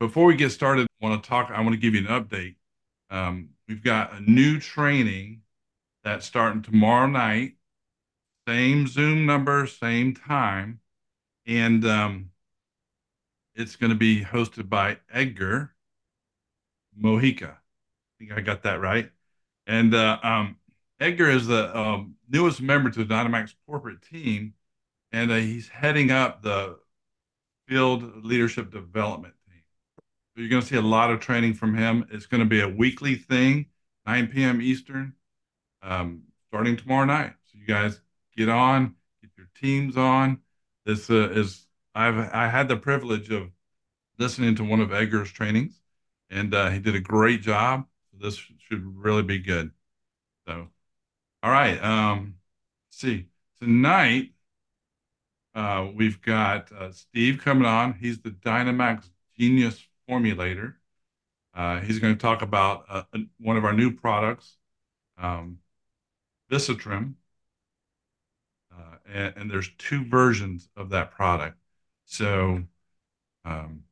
before we get started, I want to give you an update. We've got a new training that's starting tomorrow night, same Zoom number, same time, and it's going to be hosted by Edgar Mojica. I think I got that right. And Edgar is the newest member to the Dynamax corporate team, and he's heading up the field leadership development team. So you're going to see a lot of training from him. It's going to be a weekly thing, 9 p.m. Eastern, starting tomorrow night. So you guys get on, get your teams on. This is I had the privilege of listening to one of Edgar's trainings, and he did a great job. So this should really be good. So, all right. Let's see. Tonight, we've got Steve coming on. He's the Dynamax Genius Formulator. He's going to talk about one of our new products, um, Visitrim, and there's two versions of that product. So um,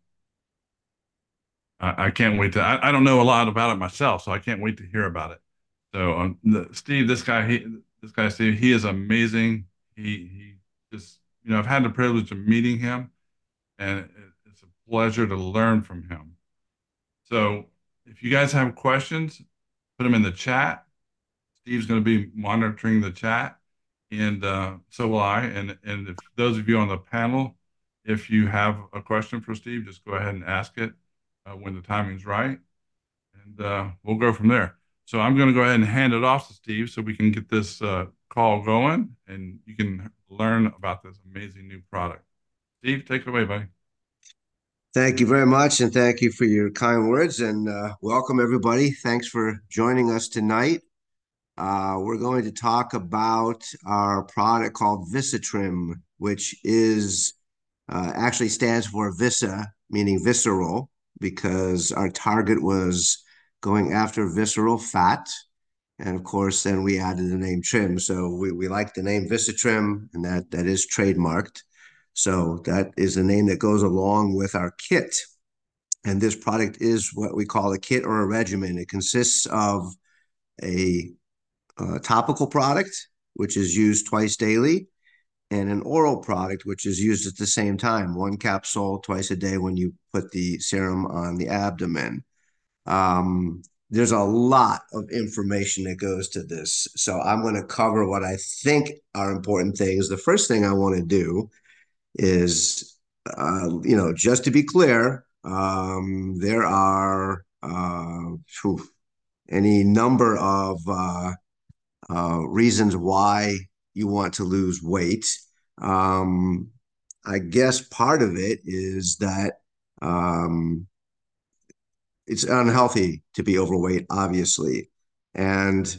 I can't wait to. I don't know a lot about it myself, so I can't wait to hear about it. So Steve, this guy Steve, he is amazing. He just I've had the privilege of meeting him, and it's a pleasure to learn from him. So if you guys have questions, put them in the chat. Steve's going to be monitoring the chat, and so will I. And if those of you on the panel, if you have a question for Steve, just go ahead and ask it when the timing's right, and we'll go from there. So I'm going to go ahead and hand it off to Steve so we can get this call going, and you can learn about this amazing new product. Steve, take it away, buddy. Thank you very much, and thank you for your kind words. And welcome, everybody. Thanks for joining us tonight. We're going to talk about our product called Visitrim, which is actually stands for Visa, meaning visceral, because our target was going after visceral fat. And of course, then we added the name Trim. So we like the name Visitrim, and that is trademarked. So that is the name that goes along with our kit. And this product is what we call a kit or a regimen. It consists of a topical product, which is used twice daily, and an oral product, which is used at the same time, one capsule twice a day when you put the serum on the abdomen. Um, there's a lot of information that goes to this. So I'm going to cover what I think are important things. The first thing I want to do is, just to be clear, there are any number of reasons why you want to lose weight. Um, I guess part of it is that um, it's unhealthy to be overweight, obviously. And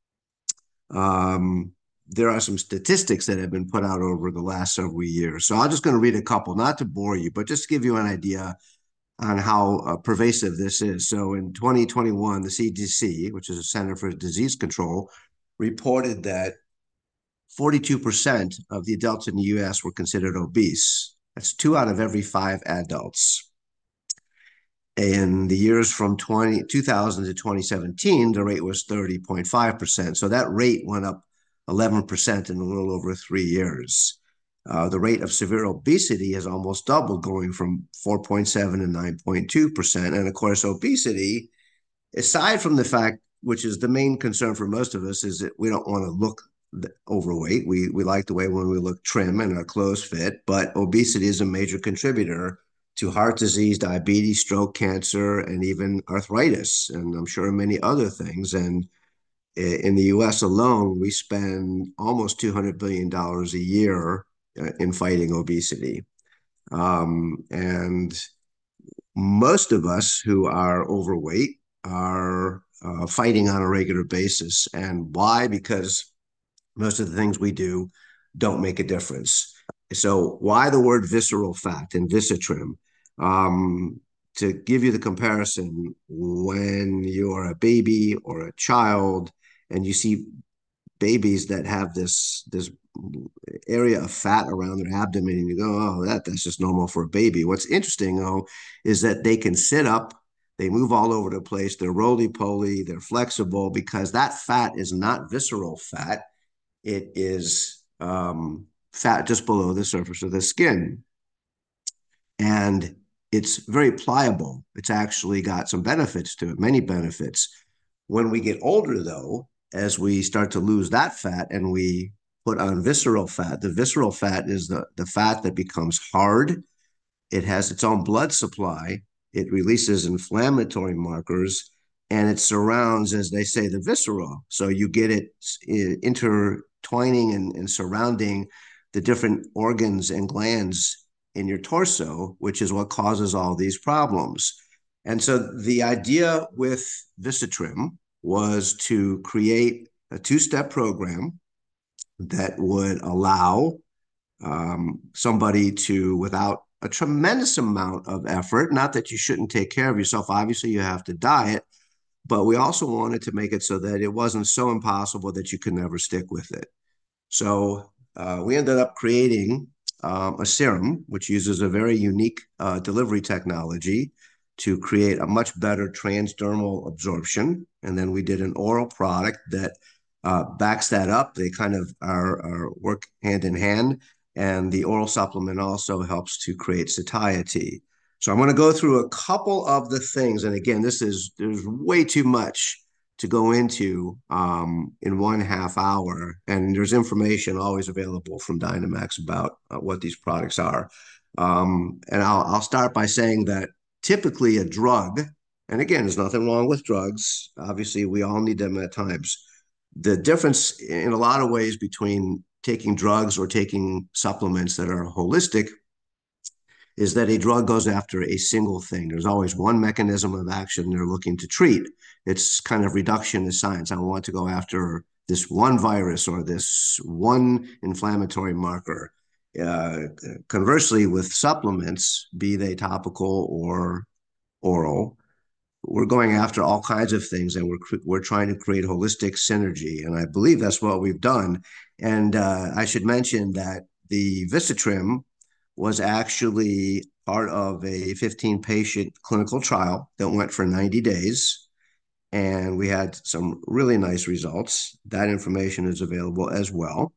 um, there are some statistics that have been put out over the last several years. So I'm just going to read a couple, not to bore you, but just to give you an idea on how pervasive this is. So in 2021, the CDC, which is a Center for Disease Control, reported that 42% of the adults in the US were considered obese. That's two out of every five adults. In the years from 2000 to 2017, the rate was 30.5%. So that rate went up 11% in a little over 3 years. The rate of severe obesity has almost doubled, going from 4.7 to 9.2%. And of course, obesity, aside from the fact, which is the main concern for most of us, is that we don't want to look overweight. We like the way when we look trim and our clothes fit, but obesity is a major contributor to heart disease, diabetes, stroke, cancer, and even arthritis, and I'm sure many other things. And in the US alone, we spend almost $200 billion a year in fighting obesity. And most of us who are overweight are fighting on a regular basis. And why? Because most of the things we do don't make a difference. So why the word visceral fat and visitrim? To give you the comparison, when you're a baby or a child and you see babies that have this area of fat around their abdomen, and you go, oh, that's just normal for a baby. What's interesting, though, is that they can sit up, they move all over the place, they're roly-poly, they're flexible, because that fat is not visceral fat. It is fat just below the surface of the skin. And it's very pliable. It's actually got some benefits to it, many benefits. When we get older, though, as we start to lose that fat and we put on visceral fat, the visceral fat is the fat that becomes hard. It has its own blood supply. It releases inflammatory markers, and it surrounds, as they say, the viscera. So you get it intertwining and surrounding the different organs and glands in your torso, which is what causes all these problems. And so the idea with Visitrim was to create a two-step program that would allow somebody to, without a tremendous amount of effort, not that you shouldn't take care of yourself. Obviously, you have to diet, but we also wanted to make it so that it wasn't so impossible that you could never stick with it. So we ended up creating a serum, which uses a very unique delivery technology to create a much better transdermal absorption. And then we did an oral product that backs that up. They kind of are work hand in hand. And the oral supplement also helps to create satiety. So I'm going to go through a couple of the things. And again, there's way too much to go into in 1/2 hour. And there's information always available from Dynamax about what these products are. And I'll start by saying that typically a drug, and again, there's nothing wrong with drugs. Obviously, we all need them at times. The difference in a lot of ways between taking drugs or taking supplements that are holistic is that a drug goes after a single thing. There's always one mechanism of action they're looking to treat. It's kind of reductionist science. I want to go after this one virus or this one inflammatory marker. Conversely, with supplements, be they topical or oral, we're going after all kinds of things, and we're trying to create holistic synergy. And I believe that's what we've done. And I should mention that the Visitrim was actually part of a 15-patient clinical trial that went for 90 days. And we had some really nice results. That information is available as well.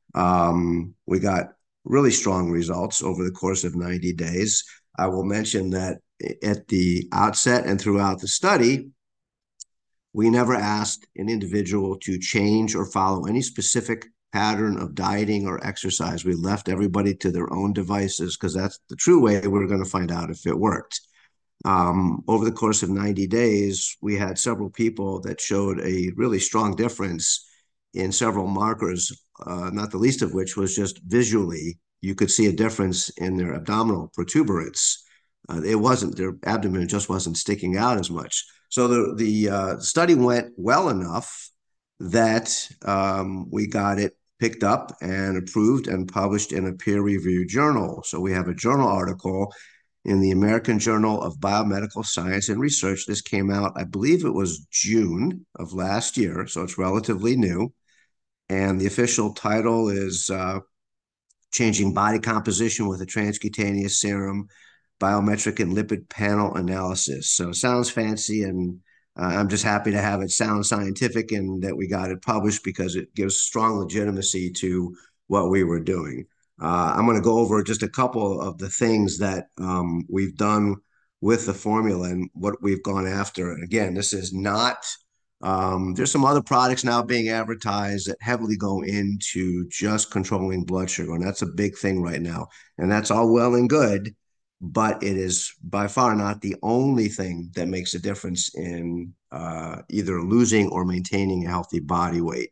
We got really strong results over the course of 90 days. I will mention that at the outset and throughout the study, we never asked an individual to change or follow any specific pattern of dieting or exercise. We left everybody to their own devices because that's the true way we're going to find out if it worked. Over the course of 90 days, we had several people that showed a really strong difference in several markers, not the least of which was just visually. You could see a difference in their abdominal protuberance. Their abdomen just wasn't sticking out as much. So the study went well enough that we got it picked up and approved and published in a peer-reviewed journal. So we have a journal article in the American Journal of Biomedical Science and Research. This came out, I believe it was June of last year, so it's relatively new. And the official title is Changing Body Composition with a Transcutaneous Serum, Biometric and Lipid Panel Analysis. So it sounds fancy, and I'm just happy to have it sound scientific and that we got it published because it gives strong legitimacy to what we were doing. I'm going to go over just a couple of the things that we've done with the formula and what we've gone after. Again, this is not, there's some other products now being advertised that heavily go into just controlling blood sugar, and that's a big thing right now. And that's all well and good, but it is by far not the only thing that makes a difference in either losing or maintaining a healthy body weight.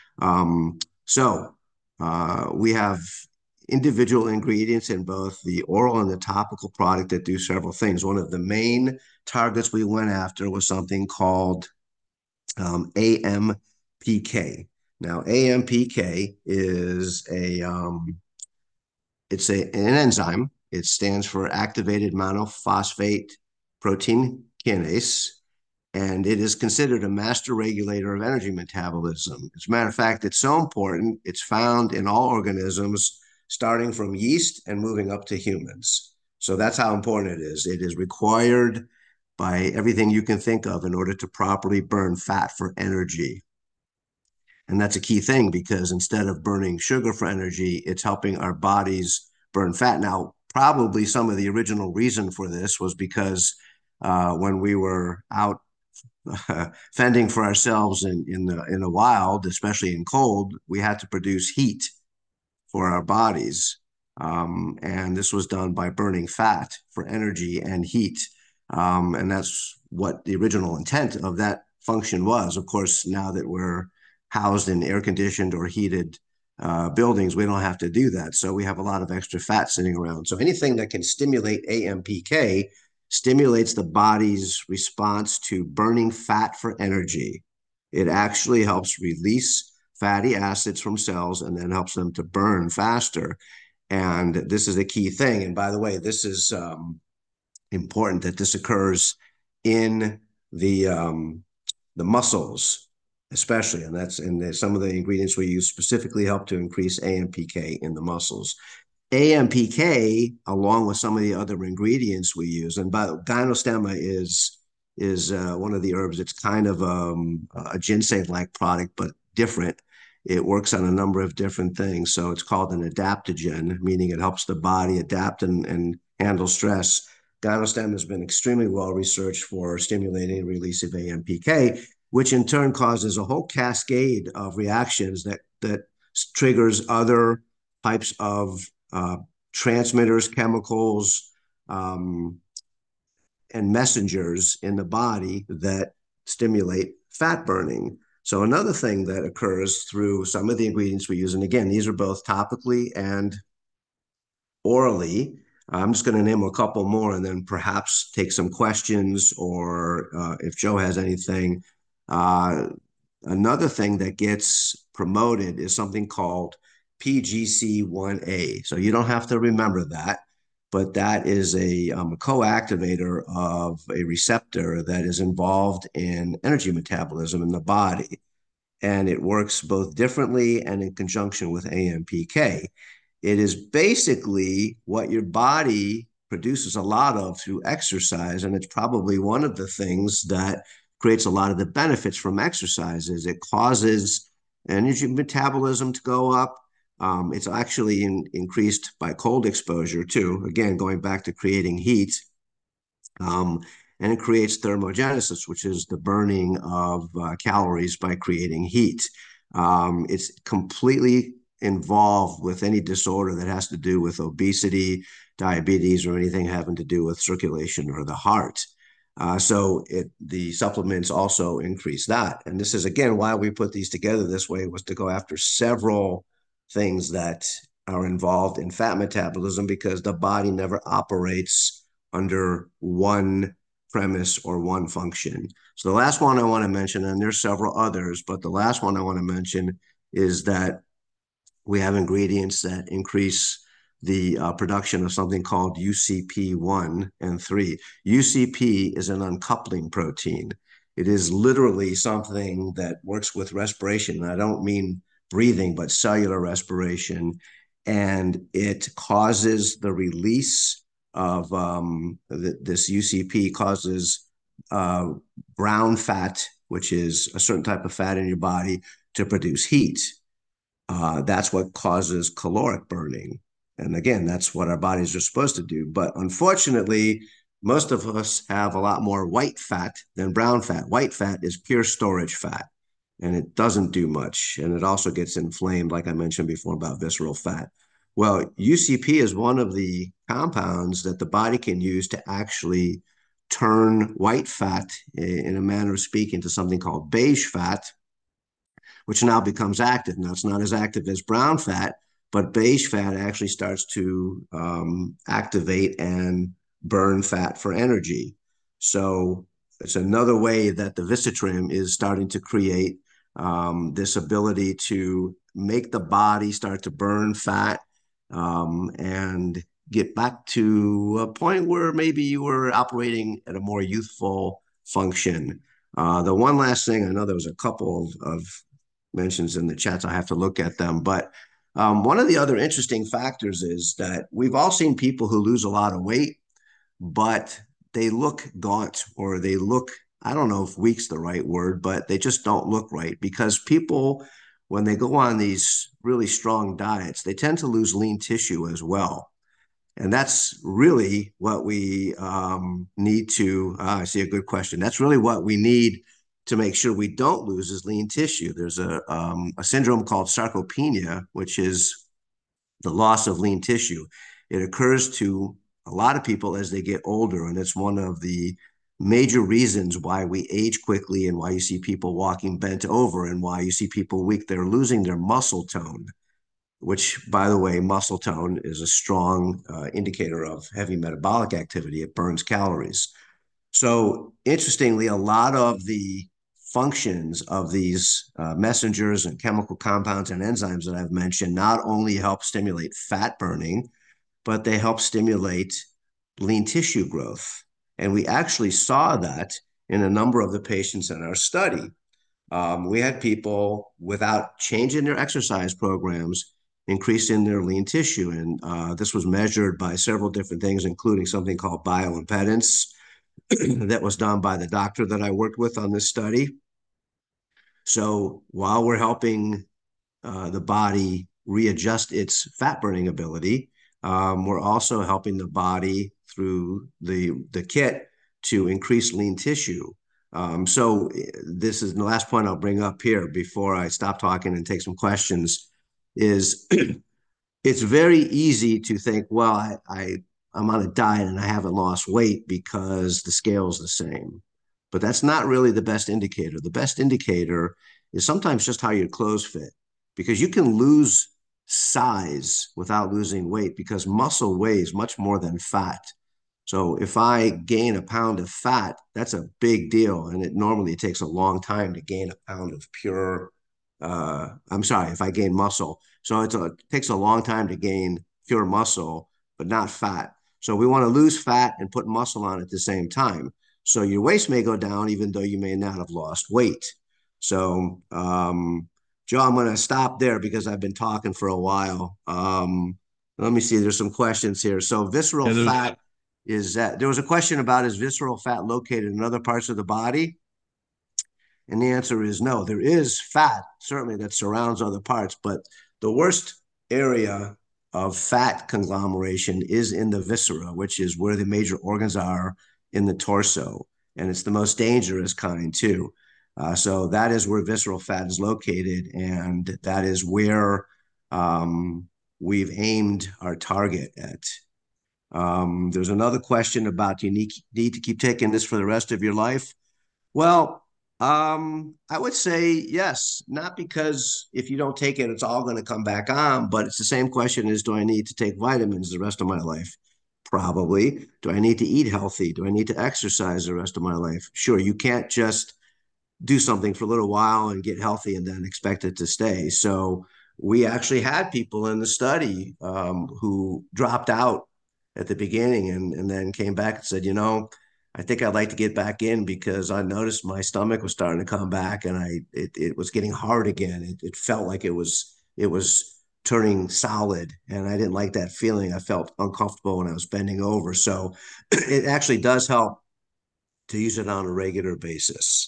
So we have individual ingredients in both the oral and the topical product that do several things. One of the main targets we went after was something called AMPK. Now, AMPK is an enzyme. It stands for activated monophosphate protein kinase. and it is considered a master regulator of energy metabolism. As a matter of fact, it's so important, it's found in all organisms, starting from yeast and moving up to humans. So that's how important it is. It is required by everything you can think of in order to properly burn fat for energy. And that's a key thing because instead of burning sugar for energy, it's helping our bodies burn fat. Now, probably some of the original reason for this was because when we were out fending for ourselves in the wild, especially in cold, we had to produce heat for our bodies. And this was done by burning fat for energy and heat. And that's what the original intent of that function was. Of course, now that we're housed in air conditioned or heated buildings, we don't have to do that. So we have a lot of extra fat sitting around. So anything that can stimulate AMPK stimulates the body's response to burning fat for energy. It actually helps release fatty acids from cells and then helps them to burn faster. And this is a key thing. And by the way, this is important that this occurs in the muscles, especially, and that's and some of the ingredients we use specifically help to increase AMPK in the muscles. AMPK, along with some of the other ingredients we use, and by gynostemma is one of the herbs. It's kind of a ginseng-like product, but different. It works on a number of different things. So it's called an adaptogen, meaning it helps the body adapt and handle stress. Gynostem has been extremely well researched for stimulating the release of AMPK, which in turn causes a whole cascade of reactions that triggers other types of transmitters, chemicals, and messengers in the body that stimulate fat burning. So another thing that occurs through some of the ingredients we use, and again, these are both topically and orally. I'm just going to name a couple more and then perhaps take some questions or if Joe has anything. Another thing that gets promoted is something called PGC1A. So you don't have to remember that, but that is a co-activator of a receptor that is involved in energy metabolism in the body. And it works both differently and in conjunction with AMPK. It is basically what your body produces a lot of through exercise, and it's probably one of the things that creates a lot of the benefits from exercise. Is it causes energy metabolism to go up. It's actually increased by cold exposure too. Again, going back to creating heat. And it creates thermogenesis, which is the burning of calories by creating heat. It's completely involved with any disorder that has to do with obesity, diabetes, or anything having to do with circulation or the heart. The supplements also increase that. And this is, again, why we put these together this way, was to go after several things that are involved in fat metabolism, because the body never operates under one premise or one function. So the last one I want to mention, and there's several others, but the last one I want to mention is that we have ingredients that increase the production of something called UCP1 and 3. UCP is an uncoupling protein. It is literally something that works with respiration. And I don't mean breathing, but cellular respiration. And it causes the release of this UCP causes brown fat, which is a certain type of fat in your body, to produce heat. That's what causes caloric burning. And again, that's what our bodies are supposed to do. But unfortunately, most of us have a lot more white fat than brown fat. White fat is pure storage fat, and it doesn't do much. And it also gets inflamed, like I mentioned before, about visceral fat. Well, UCP is one of the compounds that the body can use to actually turn white fat, in a manner of speaking, to something called beige fat, which now becomes active. Now, it's not as active as brown fat, but beige fat actually starts to activate and burn fat for energy. So it's another way that the Visitrim is starting to create this ability to make the body start to burn fat and get back to a point where maybe you were operating at a more youthful function. The one last thing, I know there was a couple of mentions in the chats. I have to look at them, but one of the other interesting factors is that we've all seen people who lose a lot of weight, but they look gaunt or they look, I don't know if weak's the right word, but they just don't look right because people, when they go on these really strong diets, they tend to lose lean tissue as well. And that's really what we need to. I see a good question. That's really what we need to make sure we don't lose is lean tissue. There's a syndrome called sarcopenia, which is the loss of lean tissue. It occurs to a lot of people as they get older, and it's one of the major reasons why we age quickly and why you see people walking bent over and why you see people weak. They're losing their muscle tone, which, by the way, muscle tone is a strong indicator of heavy metabolic activity. It burns calories. So, interestingly, a lot of the functions of these messengers and chemical compounds and enzymes that I've mentioned not only help stimulate fat burning, but they help stimulate lean tissue growth. And we actually saw that in a number of the patients in our study. We had people without changing their exercise programs increasing their lean tissue. And this was measured by several different things, including something called bioimpedance that was done by the doctor that I worked with on this study. So while we're helping the body readjust its fat burning ability, we're also helping the body through the kit to increase lean tissue. So this is the last point I'll bring up here before I stop talking and take some questions is it's very easy to think, well, I'm on a diet and I haven't lost weight because the scale is the same. But that's not really the best indicator. The best indicator is sometimes just how your clothes fit, because you can lose size without losing weight because muscle weighs much more than fat. So if I gain a pound of fat, that's a big deal. And it normally takes a long time to gain a pound of pure, I'm sorry, if I gain muscle. So it takes a long time to gain pure muscle, but not fat. So we want to lose fat and put muscle on at the same time. So your waist may go down, even though you may not have lost weight. So, Joe, I'm going to stop there because I've been talking for a while. Let me see. There's some questions here. So visceral Yeah, there's fat is that there was a question about is visceral fat located in other parts of the body? And the answer is no. There is fat, certainly, that surrounds other parts, but the worst area of fat conglomeration is in the viscera, which is where the major organs are in the torso. And it's the most dangerous kind, too. So that is where visceral fat is located. And that is where we've aimed our target at. There's another question about do you need to keep taking this for the rest of your life? Well, I would say yes, not because if you don't take it, it's all going to come back on, but it's the same question as do I need to take vitamins the rest of my life? Probably. Do I need to eat healthy? Do I need to exercise the rest of my life? Sure, you can't just do something for a little while and get healthy and then expect it to stay. So we actually had people in the study who dropped out at the beginning and then came back and said, I think I'd like to get back in because I noticed my stomach was starting to come back and it was getting hard again. It felt like it was turning solid and I didn't like that feeling. I felt uncomfortable when I was bending over. So it actually does help to use it on a regular basis.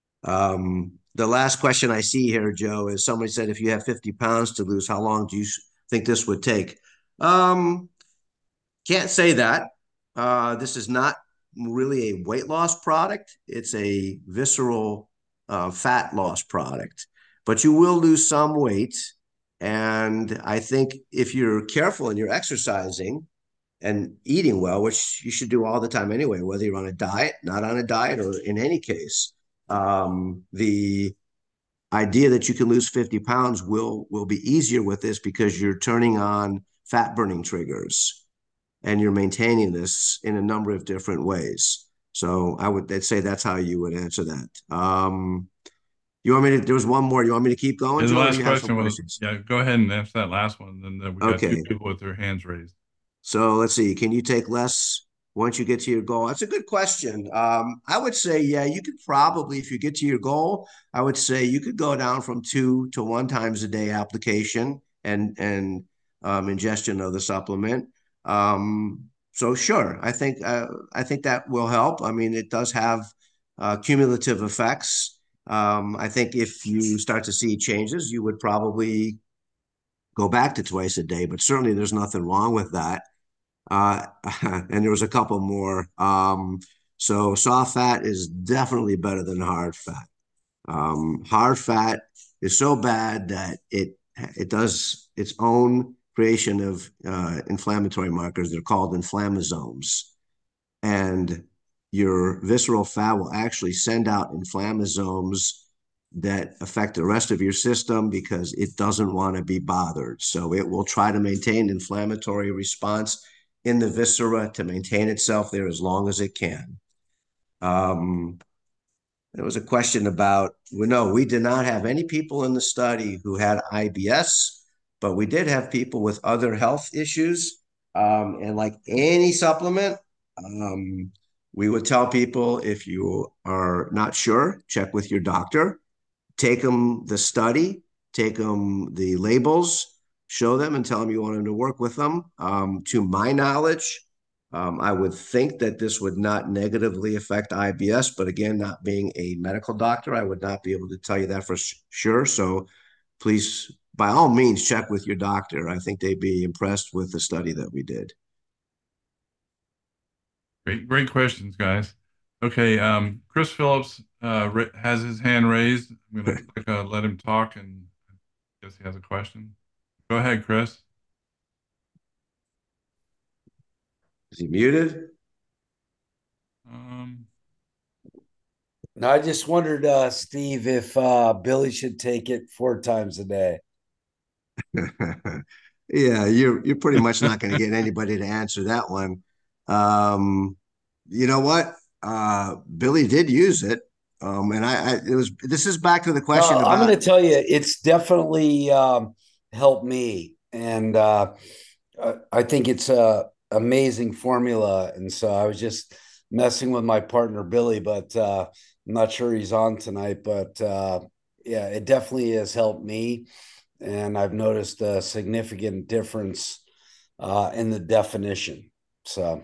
The last question I see here, Joe, is somebody said if you have 50 pounds to lose, how long do you think this would take? Um, can't say that. This is not really a weight loss product. It's a visceral fat loss product, but you will lose some weight. And I think if you're careful and you're exercising and eating well, which you should do all the time anyway, whether you're on a diet, not on a diet, or in any case, the idea that you can lose 50 pounds will be easier with this because you're turning on fat burning triggers and you're maintaining this in a number of different ways. So I'd say that's how you would answer that. You want me to, there was one more. You want me to keep going, yeah, the Joe, or do last you have some question was, questions? yeah, go ahead and answer that last one. Then we got two Okay. people with their hands raised. So let's see. Can you take less once you get to your goal? That's a good question. I would say, yeah, you could probably, if you get to your goal, I would say you could go down from 2 to 1 times a day application and ingestion of the supplement. So sure, I think that will help. I mean, it does have cumulative effects. I think if you start to see changes, you would probably go back to twice a day, but certainly there's nothing wrong with that. Uh, and there was a couple more. So soft fat is definitely better than hard fat. Hard fat is so bad that it does its own creation of inflammatory markers. They're called inflammasomes, and your visceral fat will actually send out inflammasomes that affect the rest of your system because it doesn't want to be bothered. So it will try to maintain inflammatory response in the viscera to maintain itself there as long as it can. Um, there was a question about, well, no, we did not have any people in the study who had IBS, but we did have people with other health issues. And like any supplement, um, we would tell people if you are not sure, check with your doctor, take them the study, take them the labels, show them and tell them you want them to work with them. To my knowledge, I would think that this would not negatively affect IBS, but again, not being a medical doctor, I would not be able to tell you that for sure. So please, by all means, check with your doctor. I think they'd be impressed with the study that we did. Great questions, guys. Okay, Chris Phillips has his hand raised. I'm going to click let him talk, and I guess he has a question. Go ahead, Chris. Is he muted? Um, No, I just wondered, Steve, if Billy should take it 4 times a day. Yeah, you're pretty much not going to get anybody to answer that one. Um, you know what? Billy did use it. And it was, this is back to the question I'm about, going to tell you, it's definitely helped me. And I think it's a amazing formula. And so I was just messing with my partner, Billy, but I'm not sure he's on tonight. But yeah, it definitely has helped me. And I've noticed a significant difference in the definition. So,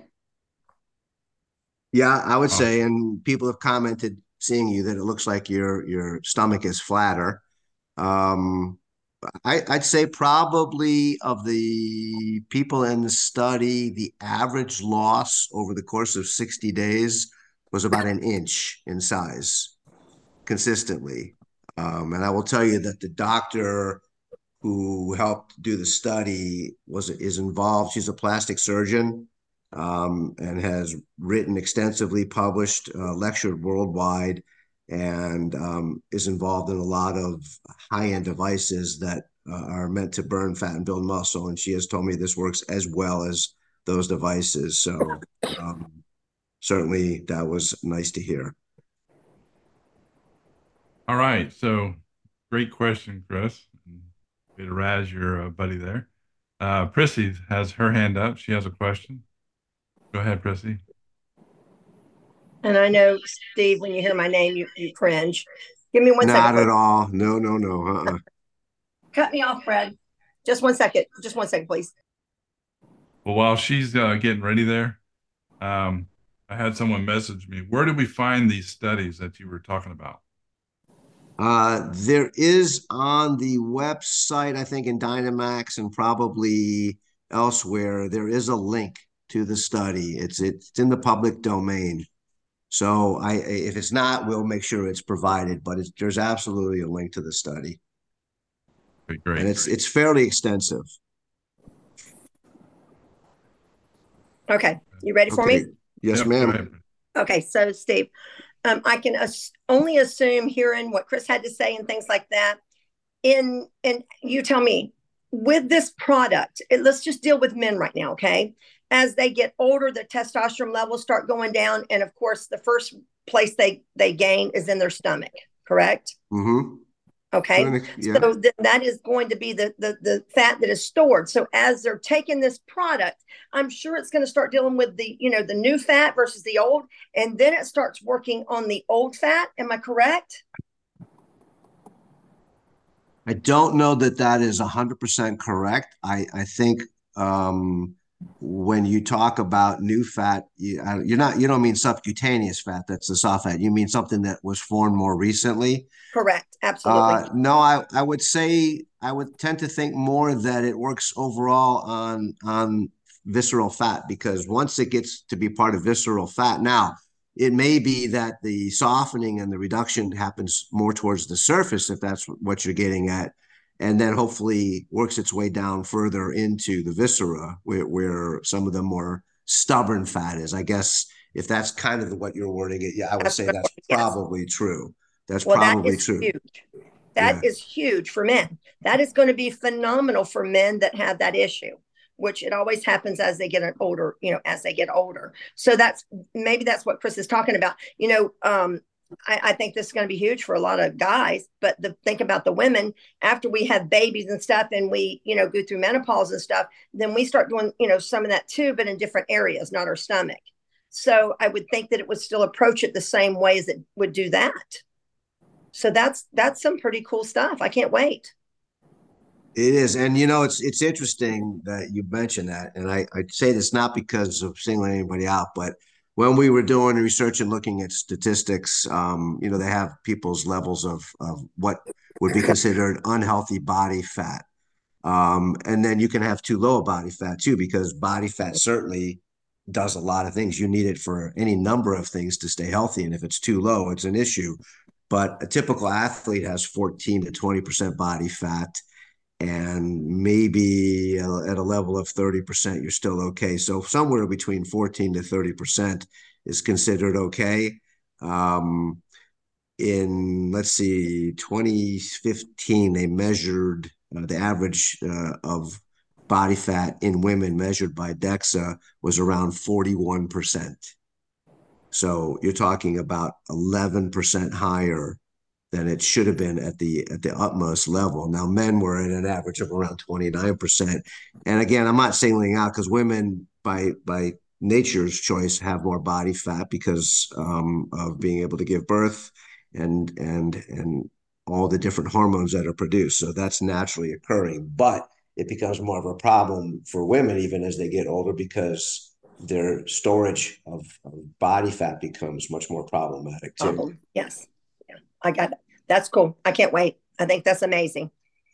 yeah, I would oh, say, and people have commented seeing you that it looks like your stomach is flatter. Um, I'd say probably of the people in the study, the average loss over the course of 60 days was about an inch in size consistently. And I will tell you that the doctor who helped do the study is involved. She's a plastic surgeon and has written extensively, published, lectured worldwide, and is involved in a lot of high-end devices that are meant to burn fat and build muscle. And she has told me this works as well as those devices. So certainly that was nice to hear. all right. So, great question, Chris. Way to razz your buddy there. Prissy has her hand up. She has a question. Go ahead, Prissy. And I know, Steve, when you hear my name, you cringe. Give me 1 second, Not please. at all. No, no, no. Cut me off, Fred. Just 1 second. Just 1 second, please. Well, while she's getting ready there, I had someone message me. Where did we find these studies that you were talking about? There is on the website, I think in Dynamax and probably elsewhere, there is a link to the study. It's in the public domain. So if it's not, we'll make sure it's provided. But there's absolutely a link to the study, Okay, and great. it's fairly extensive. Okay. You ready for Okay. me? Yes, Yep, go ma'am. ahead. Okay. So, Steve, I can only assume hearing what Chris had to say and things like that. And you tell me with this product, let's just deal with men right now. Okay. As they get older, the testosterone levels start going down. And of course, the first place they gain is in their stomach. Correct. Mm-hmm. Okay. Yeah. So that is going to be the fat that is stored. So as they're taking this product, I'm sure it's going to start dealing with the, the new fat versus the old. And then it starts working on the old fat. Am I correct? I don't know that that is 100% correct. I think um, when you talk about new fat, you don't mean subcutaneous fat. That's the soft fat. You mean something that was formed more recently. Correct. Absolutely. No, I would say I would tend to think more that it works overall on visceral fat, because once it gets to be part of visceral fat, now it may be that the softening and the reduction happens more towards the surface, if that's what you're getting at, and then hopefully works its way down further into the viscera, where some of the more stubborn fat is. I guess if that's kind of what you're wording it, yeah, I would That's say what, that's yes. probably true. That's Well, that probably is true. huge. That Yeah. is huge for men. That is going to be phenomenal for men that have that issue, which it always happens as they get older, as they get older. So maybe that's what Chris is talking about. I think this is going to be huge for a lot of guys, but think about the women after we have babies and stuff, and we, go through menopause and stuff, then we start doing, some of that too, but in different areas, not our stomach. So I would think that it would still approach it the same way as it would do that. So that's some pretty cool stuff. I can't wait. It is. And it's interesting that you mentioned that. And I say this not because of singling anybody out, but when we were doing research and looking at statistics, they have people's levels of what would be considered unhealthy body fat. And then you can have too low a body fat too, because body fat certainly does a lot of things. You need it for any number of things to stay healthy. And if it's too low, it's an issue. But a typical athlete has 14 to 20% body fat, and maybe at a level of 30%, you're still okay. So somewhere between 14 to 30% is considered okay. In, let's see, 2015, they measured the average of body fat in women measured by DEXA was around 41%. So you're talking about 11% higher than it should have been at the utmost level. Now, men were at an average of around 29%. And again, I'm not singling out, because women by nature's choice have more body fat because of being able to give birth and all the different hormones that are produced. So that's naturally occurring, but it becomes more of a problem for women even as they get older, because their storage of body fat becomes much more problematic too. Problem. Yes. Yeah. I got it. That's cool. I can't wait. I think that's amazing.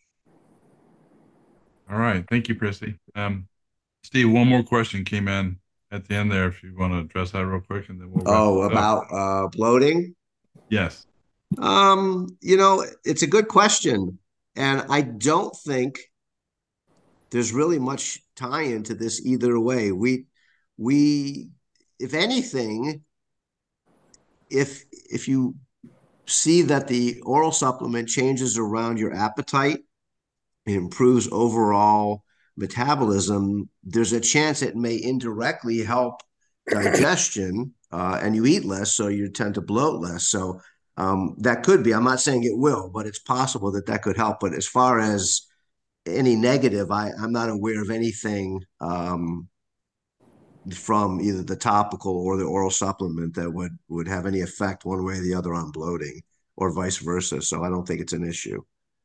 All right. Thank you, Christy. Steve, one more question came in at the end there. If you want to address that real quick, and then we'll wrap about bloating. Yes. It's a good question. And I don't think there's really much tie into this either way. We, if anything, if you see that the oral supplement changes around your appetite, it improves overall metabolism, there's a chance it may indirectly help digestion, and you eat less, so you tend to bloat less. So that could be, I'm not saying it will, but it's possible that that could help. But as far as any negative, I'm not aware of anything from either the topical or the oral supplement that would have any effect one way or the other on bloating, or vice versa. So I don't think it's an issue.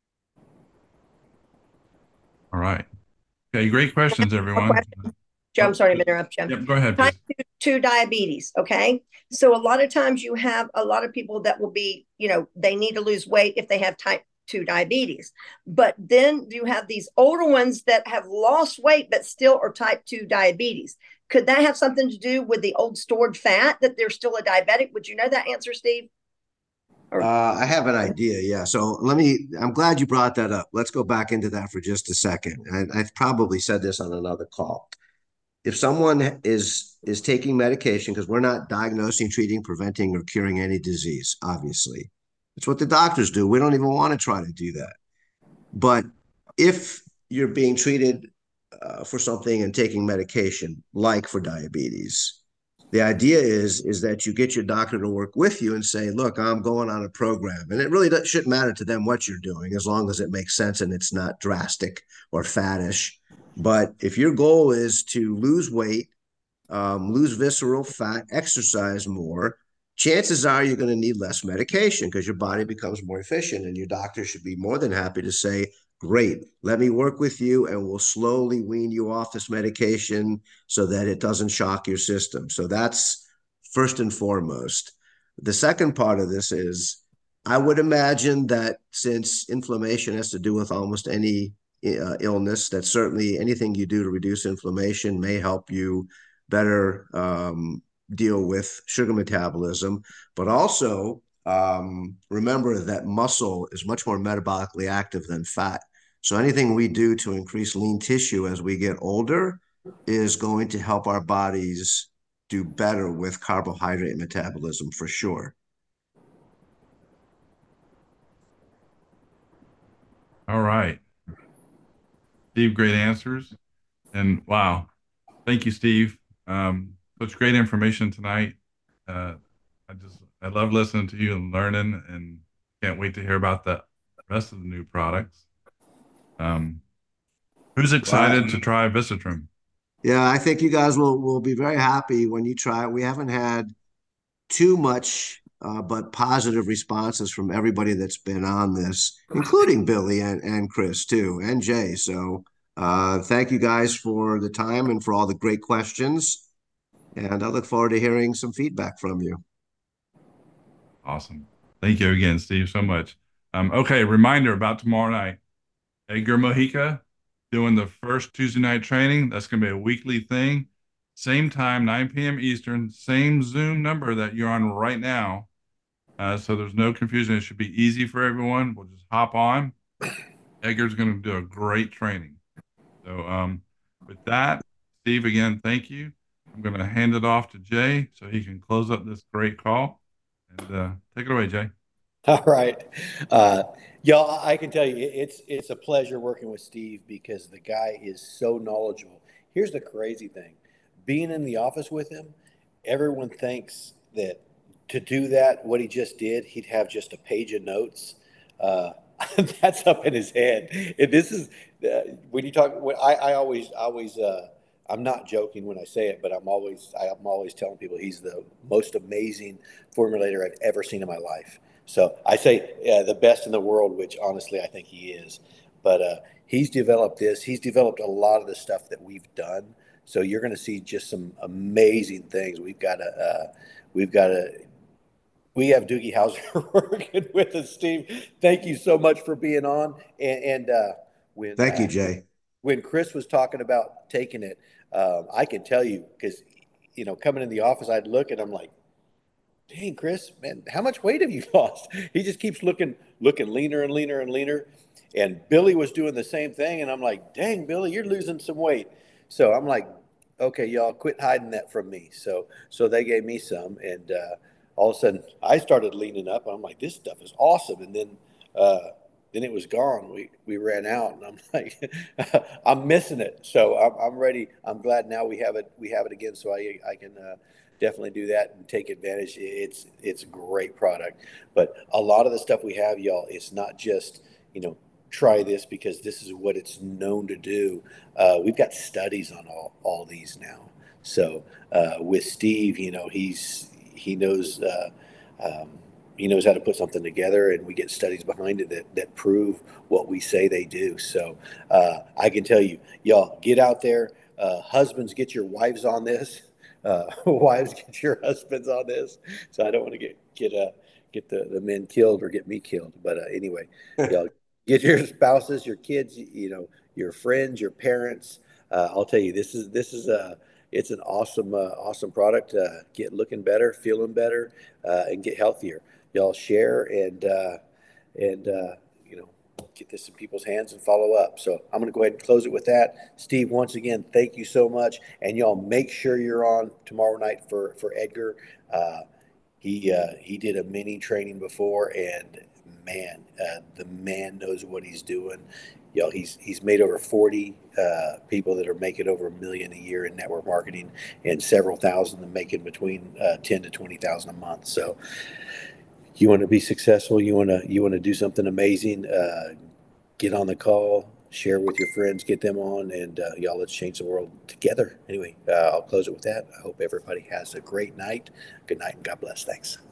All right. Okay. Great questions, everyone. Joe, I'm sorry to interrupt you. Yep, go ahead. Type 2 diabetes. Okay. So a lot of times you have a lot of people that will be, they need to lose weight if they have type 2 diabetes. But then you have these older ones that have lost weight but still are type 2 diabetes. Could that have something to do with the old stored fat, that they're still a diabetic? Would you know that answer, Steve? I have an idea. Yeah. So I'm glad you brought that up. Let's go back into that for just a second. I've probably said this on another call. If someone is taking medication, because we're not diagnosing, treating, preventing, or curing any disease, obviously. It's what the doctors do. We don't even want to try to do that. But if you're being treated for something and taking medication, like for diabetes, The idea is that you get your doctor to work with you and say, look, I'm going on a program. And it really shouldn't matter to them what you're doing, as long as it makes sense and it's not drastic or faddish. But if your goal is to lose weight, lose visceral fat, exercise more, chances are you're going to need less medication because your body becomes more efficient. And your doctor should be more than happy to say, great, let me work with you and we'll slowly wean you off this medication so that it doesn't shock your system. So that's first and foremost. The second part of this is, I would imagine that since inflammation has to do with almost any illness, that certainly anything you do to reduce inflammation may help you better deal with sugar metabolism. But also remember that muscle is much more metabolically active than fat. So anything we do to increase lean tissue as we get older is going to help our bodies do better with carbohydrate metabolism for sure. All right. Steve, great answers. And wow, thank you, Steve. Such great information tonight. Uh, I love listening to you and learning, and can't wait to hear about the rest of the new products. Um, who's excited to try Visitrum? Yeah, I think you guys will be very happy when you try it. We haven't had too much, but positive responses from everybody that's been on this, including Billy and Chris too, and Jay. So thank you guys for the time and for all the great questions. And I look forward to hearing some feedback from you. Awesome. Thank you again, Steve, so much. Okay, reminder about tomorrow night. Edgar Mojica doing the first Tuesday night training. That's going to be a weekly thing. Same time, 9 p.m. Eastern, same Zoom number that you're on right now. So there's no confusion. It should be easy for everyone. We'll just hop on. Edgar's going to do a great training. So with that, Steve, again, thank you. I'm going to hand it off to Jay so he can close up this great call. And take it away, Jay. All right. Y'all, I can tell you, it's a pleasure working with Steve because the guy is so knowledgeable. Here's the crazy thing. Being in the office with him, everyone thinks that to do that, what he just did, he'd have just a page of notes. Uh, that's up in his head. And this is when you talk. When I'm not joking when I say it, but I'm always telling people he's the most amazing formulator I've ever seen in my life. So I say the best in the world, which honestly I think he is. But he's developed this. He's developed a lot of the stuff that we've done. So you're going to see just some amazing things. We have Doogie Howser working with us, Steve. Thank you so much for being on. And Thank you, Jay. when Chris was talking about taking it, I can tell you because, coming in the office, I'd look and I'm like, dang, Chris, man, how much weight have you lost? He just keeps looking leaner and leaner and leaner. And Billy was doing the same thing. And I'm like, dang, Billy, you're losing some weight. So I'm like, okay, y'all quit hiding that from me. So they gave me some. And all of a sudden I started leaning up. I'm like, this stuff is awesome. And then it was gone. We ran out, and I'm like, I'm missing it. So I'm ready. I'm glad now we have it. We have it again, so I can definitely do that and take advantage. It's a great product, but a lot of the stuff we have, y'all, it's not just try this because this is what it's known to do. We've got studies on all these now. So with Steve, he knows. He knows how to put something together, and we get studies behind it that prove what we say they do. So I can tell you, y'all, get out there. Husbands, get your wives on this. Wives, get your husbands on this. So I don't want to get the men killed or get me killed. But anyway, y'all, get your spouses, your kids, your friends, your parents. I'll tell you, this is it's an awesome product. Get looking better, feeling better, and get healthier. Y'all share and get this in people's hands and follow up. So I'm going to go ahead and close it with that. Steve, once again, thank you so much. And y'all make sure you're on tomorrow night for Edgar. He did a mini training before, and man, the man knows what he's doing. You know, he's made over 40 people that are making over $1 million a year in network marketing, and several thousand that making between 10 to 20,000 a month. So you want to be successful, you want to do something amazing, get on the call, share with your friends, get them on, and y'all, let's change the world together. Anyway, I'll close it with that. I hope everybody has a great night. Good night and God bless. Thanks.